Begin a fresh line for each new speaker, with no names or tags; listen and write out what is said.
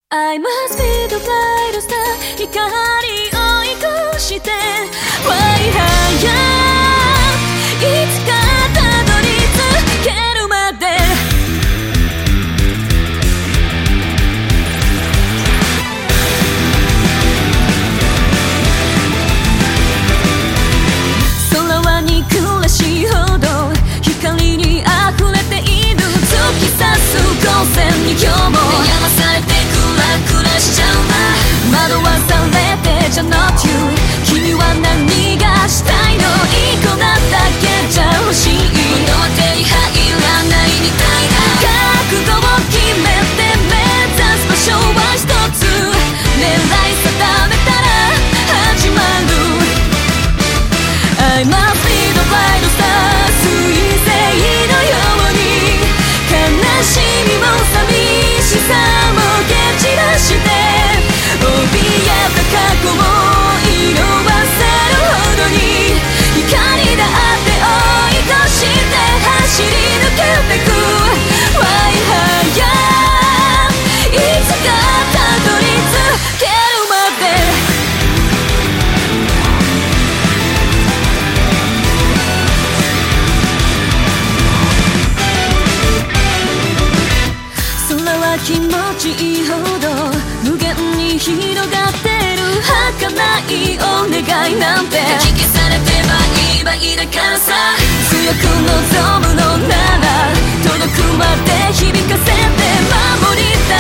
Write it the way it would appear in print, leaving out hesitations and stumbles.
I must be the bright star 光を追い越して Fly higher いつかたどり着けるまで空は憎らしいほど光に溢れている突き刺す光線に今日も悩まされてクラしちゃうな惑わされてじゃ Not you 君は何がしたいのいい子なだけじゃ欲しい物は手に入らないみたいな覚悟を決めて目指す場所は一つ狙い定めたら始まる I must be the bright star 彗星のように悲しみも寂しさも蹴散らして怯えた過去を色あせるほどに光だって追い越して走り抜けてく Fly higher いつかたどり着けるまで空は気持ちいいほど無限に広がってる儚いお願いなんてかき消されてバイバイだからさ強く望むのなら届くまで響かせて守りた